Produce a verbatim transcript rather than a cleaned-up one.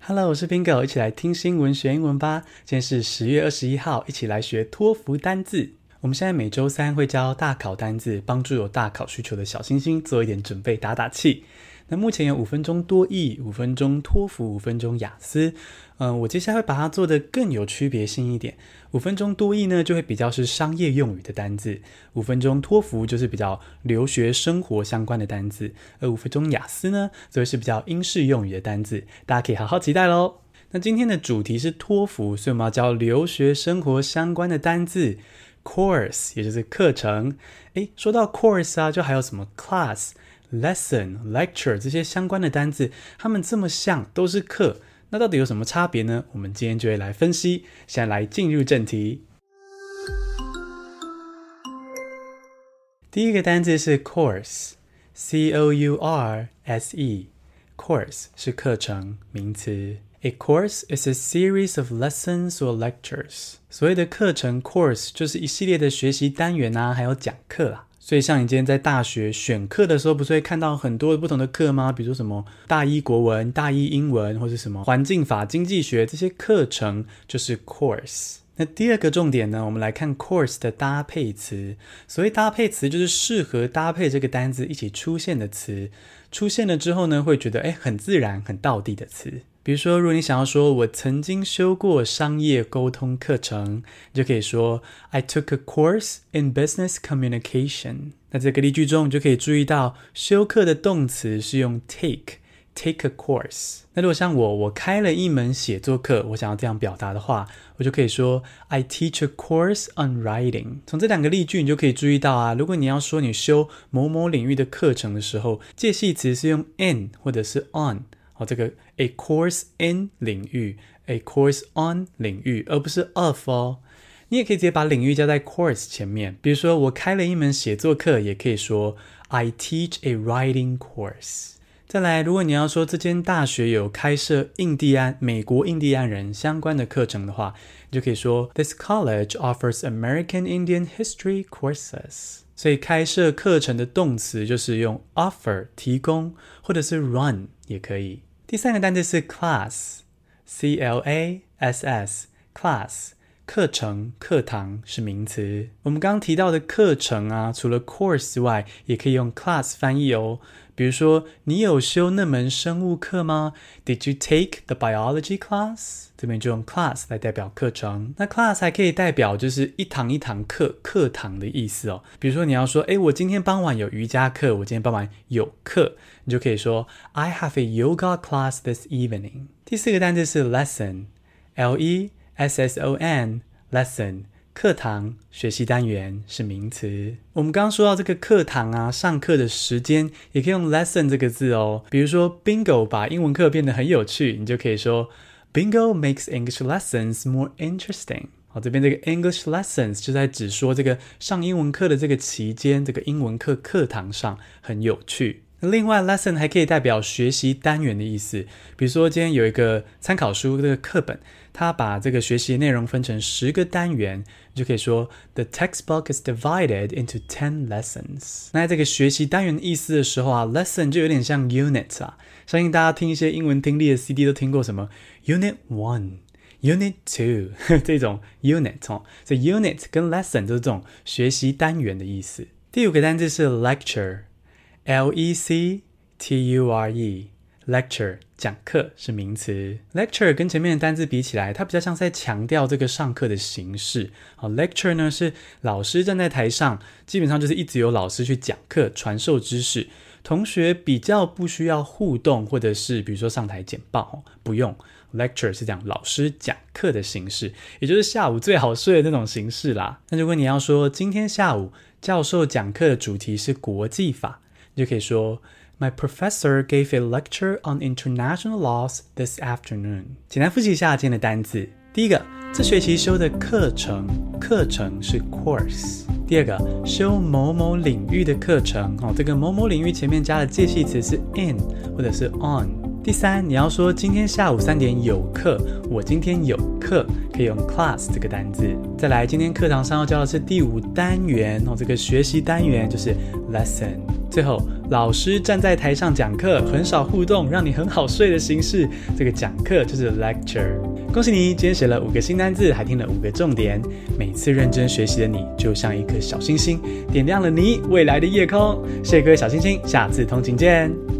Hello， 我是 Bingo， 一起來聽新聞學英文吧。今天是十月二十一號，一起來學托福單字。我們現在每周三會教大考單字，幫助有大考需求的小星星做一點準備，打打氣。那目前有五分鐘多益、五分鐘托福、五分鐘雅思。嗯，我接下來會把它做得更有區別性一點。五分鐘多益呢，就會比較是商業用語的單字；五分鐘托福就是比較留學生活相關的單字；而五分鐘雅思呢，則是比較英式用語的單字。大家可以好好期待咯。那今天的主題是托福，所以我們要教留學生活相關的單字。Course 也就是課程。誒，說到 course 啊，就還有什麼 class、lesson、lecture 這些相關的單字，它們這麼像，都是課。那到底有什麼差別呢？我們今天就會來分析。現在來進入正題。第一個單字是 course，C O U R S E。Course 是課程，名詞。A course is a series of lessons or lectures. 所謂的課程 course 就是一系列的學習單元啊，還有講課啊。所以像你今天在大學選課的時候，不是會看到很多不同的課嗎？比如說什麼大一國文、大一英文，或是什麼環境法、經濟學，這些課程就是 course。那第二個重點呢，我們來看 course 的搭配詞。所謂搭配詞，就是適合搭配這個單字一起出現的詞。出現了之後呢，會覺得誒很自然、很道地的詞。比如說，如果你想要說我曾經修過商業溝通課程，你就可以說 I took a course in business communication。那這個例句中，你就可以注意到修課的動詞是用 take take a course。那如果像我我開了一門寫作課，我想要這樣表達的話，我就可以說 I teach a course on writing。從這兩個例句你就可以注意到啊，如果你要說你修某某領域的課程的時候，介系詞是用 in 或者是 on。哦，這個 a course in 領域 a course on 領域，而不是 of 哦。你也可以直接把領域加在 course 前面，比如說我開了一門寫作課，也可以說 I teach a writing course。再來，如果你要說這間大學有開設印第安美國印第安人相關的課程的話，你就可以說 This college offers American Indian history courses。所以開設課程的動詞就是用 offer 提供，或者是 run 也可以。第三個單字是 class，C L A S S，class， 課程、課堂是名詞。我們剛剛提到的課程啊，除了 course 之外，也可以用 class 翻譯哦。比如說，你有修那門生物課嗎？ Did you take the biology class？ 這邊就用 class 來代表課程。那 class 還可以代表就是一堂一堂課，課堂的意思哦。比如說你要說，誒，我今天傍晚有瑜伽課，我今天傍晚有課，你就可以說 I have a yoga class this evening。第四個單字是 lesson，L E S S O N，lesson。課堂、學習單元是名詞。我們剛剛說到這個課堂啊，上課的時間也可以用 lesson 這個字哦。比如說 Bingo 把英文課變得很有趣，你就可以說 Bingo makes English lessons more interesting。好，這邊這個 English lessons 就在指說這個上英文課的這個期間，這個英文課課堂上很有趣。另外 lesson 還可以代表學習單元的意思。比如說今天有一個參考書這個課本，它把這個學習內容分成十個單元，你就可以說 The textbook is divided into ten lessons。 那在這個學習單元的意思的時候啊， lesson 就有點像 unit 啊。相信大家聽一些英文聽力的 C D 都聽過什麼 Unit one、Unit two 這種 unit 哦。所以 unit 跟 lesson 都是這種學習單元的意思。第五個單字是 lecture，L E C T U R E，lecture 講課是名詞。lecture 跟前面的單字比起來，它比較像在強調這個上課的形式。好 lecture 呢是老師站在台上，基本上就是一直有老師去講課，傳授知識。同學比較不需要互動，或者是比如說上台簡報，不用。lecture 是講老師講課的形式，也就是下午最好睡的那種形式啦。那如果你要說今天下午教授講課的主題是國際法，你就可以說My professor gave a lecture on international laws this afternoon。 簡單複習一下今天的單字。第一個，這學期修的課程，課程是 course。第二個，修某某領域的課程，哦，這個某某領域前面加的介系詞是 in 或者是 on。第三，你要說今天下午三點有課，我今天有課，可以用 class 這個單字。再來，今天課堂上要教的是第五單元哦，這個學習單元就是 lesson。最後，老師站在台上講課，很少互動，讓你很好睡的形式，這個講課就是 lecture。恭喜你，今天學了五個新單字，還聽了五個重點。每次認真學習的你，就像一顆小星星，點亮了你未來的夜空。謝謝各位小星星，下次通勤見。